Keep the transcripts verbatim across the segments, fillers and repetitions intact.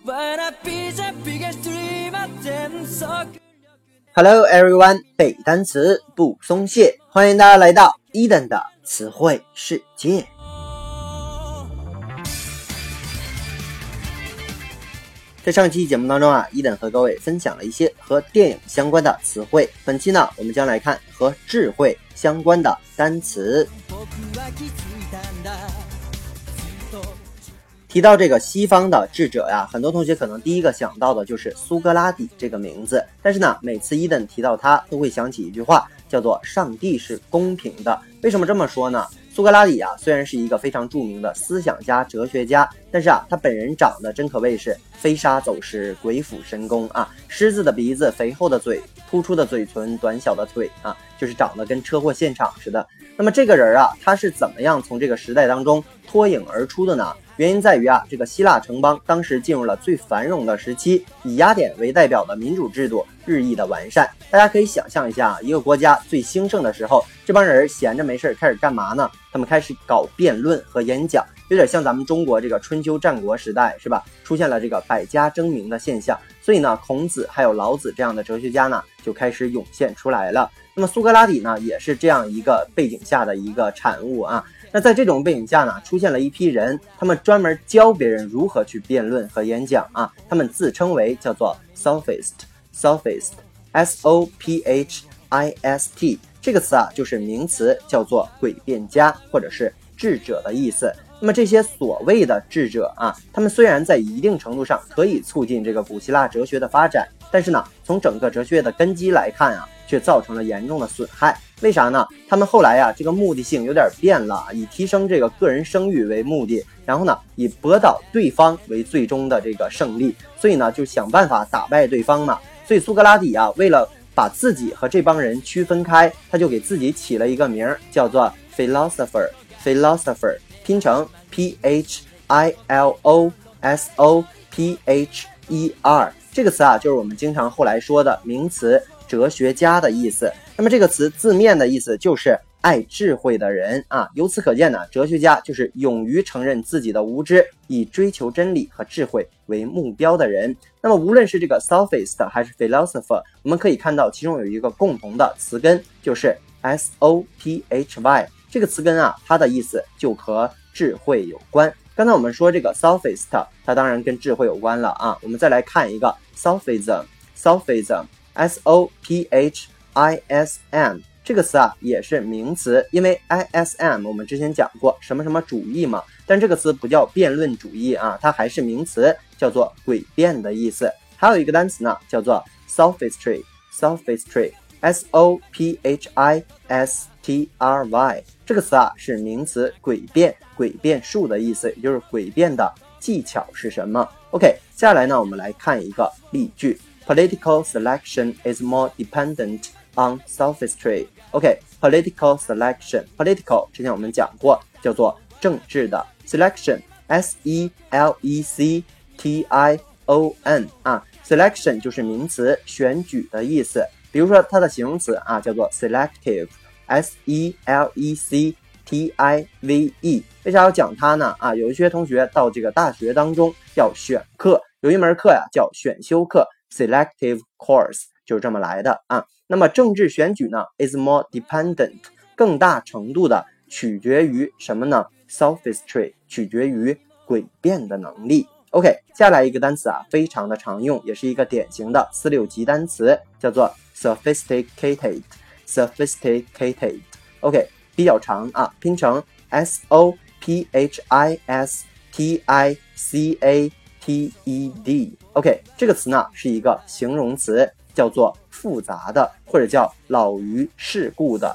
Hello everyone， 背单词不松懈，欢迎大家来到伊登的词汇世界。在上期节目当中啊，伊登和各位分享了一些和电影相关的词汇。本期呢，我们将来看和智慧相关的单词。提到这个西方的智者呀，很多同学可能第一个想到的就是苏格拉底这个名字。但是呢，每次伊登提到他，都会想起一句话，叫做上帝是公平的。为什么这么说呢？苏格拉底啊，虽然是一个非常著名的思想家、哲学家，但是啊，他本人长得真可谓是飞沙走石、鬼斧神工啊！狮子的鼻子，肥厚的嘴，突出的嘴唇，短小的腿啊，就是长得跟车祸现场似的。那么这个人啊，他是怎么样从这个时代当中脱颖而出的呢？原因在于啊，这个希腊城邦当时进入了最繁荣的时期，以雅典为代表的民主制度日益的完善。大家可以想象一下，一个国家最兴盛的时候，这帮人闲着没事开始干嘛呢？他们开始搞辩论和演讲，有点像咱们中国这个春秋战国时代，是吧？出现了这个百家争鸣的现象，所以呢，孔子还有老子这样的哲学家呢，就开始涌现出来了。那么苏格拉底呢，也是这样一个背景下的一个产物啊。那在这种背景下呢，出现了一批人，他们专门教别人如何去辩论和演讲啊。他们自称为叫做 sophist，sophist， S O P H I S T， 这个词啊就是名词，叫做诡辩家或者是智者的意思。那么这些所谓的智者啊，他们虽然在一定程度上可以促进这个古希腊哲学的发展，但是呢，从整个哲学的根基来看啊，却造成了严重的损害。为啥呢？他们后来啊，这个目的性有点变了，以提升这个个人声誉为目的，然后呢，以驳倒对方为最终的这个胜利，所以呢，就想办法打败对方嘛。所以苏格拉底啊，为了把自己和这帮人区分开，他就给自己起了一个名，叫做 philosopher，philosopher， 拼成 P H I L O S O P H E R， 这个词啊，就是我们经常后来说的名词哲学家的意思。那么这个词字面的意思就是爱智慧的人啊，由此可见呢，哲学家就是勇于承认自己的无知，以追求真理和智慧为目标的人。那么无论是这个 sophist 还是 philosopher， 我们可以看到其中有一个共同的词根，就是 S O P H Y， 这个词根啊，它的意思就和智慧有关。刚才我们说这个 sophist， 它当然跟智慧有关了啊。我们再来看一个 sophism， sophism S O P H I S M， 这个词啊也是名词，因为 I S M 我们之前讲过什么什么主义嘛，但这个词不叫辩论主义啊，它还是名词，叫做诡辩的意思。还有一个单词呢，叫做 sophistry， sophistry S O P H I S T R Y， 这个词啊是名词，诡辩，诡辩术的意思，也就是诡辩的技巧是什么。 OK， 接下来呢，我们来看一个例句， Political selection is more dependent on sophistry。 OK， political selection， political 之前我们讲过，叫做政治的 selection， S E L E C T I O N 啊 selection 就是名词，选举的意思。比如说它的形容词啊，叫做 selective， S E L E C T I V E。 为啥要讲它呢？啊，有一些同学到这个大学当中要选课，有一门课呀叫选修课 selective course， 就是这么来的啊。那么政治选举呢 is more dependent， 更大程度的取决于什么呢？ sophistry， 取决于诡辩的能力。 OK， 接下来一个单词啊，非常的常用，也是一个典型的四六级单词，叫做 sophisticated， sophisticated OK， 比较长啊，拼成 S O P H I S T I C A T E D。 OK， 这个词呢是一个形容词，叫做复杂的，或者叫老于世故的。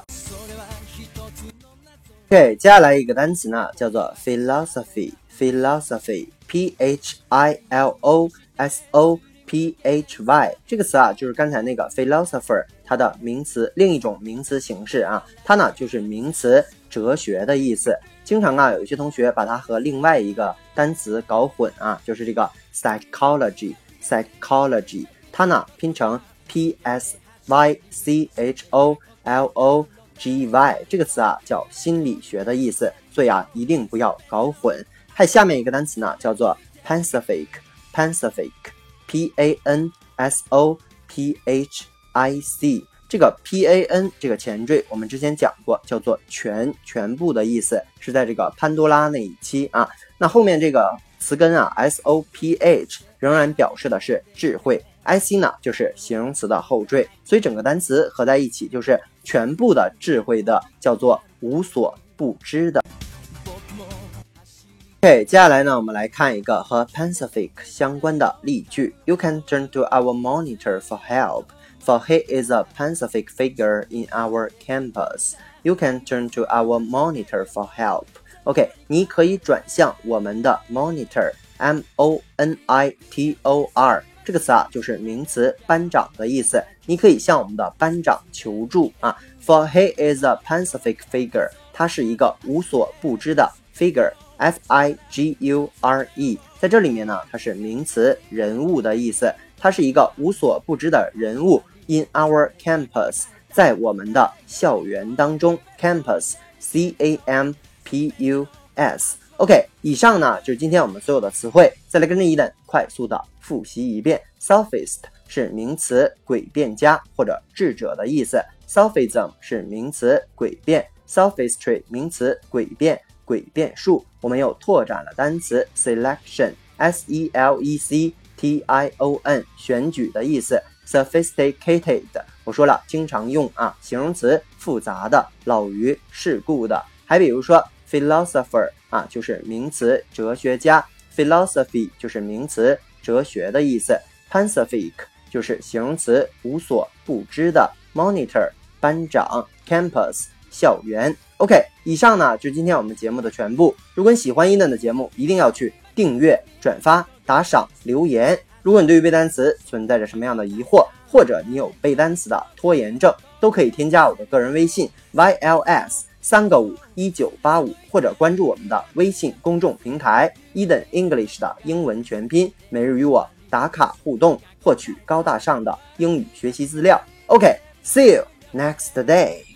OK， 接下来一个单词呢叫做 philosophy， philosophy P H I L O S O P H Y， 这个词啊就是刚才那个 philosopher 它的名词，另一种名词形式啊，它呢就是名词哲学的意思。经常啊有一些同学把它和另外一个单词搞混啊，就是这个 psychology psychology， 它呢拼成 P S Y C H O L O G Y， 这个词啊叫心理学的意思，所以啊一定不要搞混。还有下面一个单词呢叫做 Pacific Pacific P A N S O P H I C， 这个 P A N 这个前缀我们之前讲过，叫做全全部的意思，是在这个潘多拉那一期啊。那后面这个词根啊 S O P H 仍然表示的是智慧， I C 呢就是形容词的后缀，所以整个单词合在一起就是全部的智慧的，叫做无所不知的。OK， 接下来呢，我们来看一个和 Pacific 相关的例句。You can turn to our monitor for help, for he is a Pacific figure in our campus. You can turn to our monitor for help. OK， 你可以转向我们的 monitor, M O N I T O R 这个词啊，就是名词班长的意思。你可以向我们的班长求助啊。For he is a Pacific figure， 他是一个无所不知的 figure。F I G U R E， 在这里面呢，它是名词人物的意思，它是一个无所不知的人物。In our campus， 在我们的校园当中 ，campus C A M P U S。OK， 以上呢就是今天我们所有的词汇，再来跟着伊登快速的复习一遍。Sophist 是名词诡辩家或者智者的意思 ，Sophism 是名词诡辩 ，Sophistry 名词诡辩。诡辩术，我们又拓展了单词 selection S E L E C T I O N 选举的意思 sophisticated 我说了经常用啊，形容词复杂的，老于世故的。还比如说 philosopher 啊，就是名词哲学家， philosophy 就是名词哲学的意思， Pacific 就是形容词无所不知的， monitor 班长， campus 校园。OK， 以上呢就是今天我们节目的全部。如果你喜欢伊登的节目，一定要去订阅、转发、打赏、留言。如果你对于背单词存在着什么样的疑惑，或者你有背单词的拖延症，都可以添加我的个人微信 Y L S 三个五一九八五，或者关注我们的微信公众平台 Eden English 的英文全拼，每日与我打卡互动，获取高大上的英语学习资料。OK，see you next day。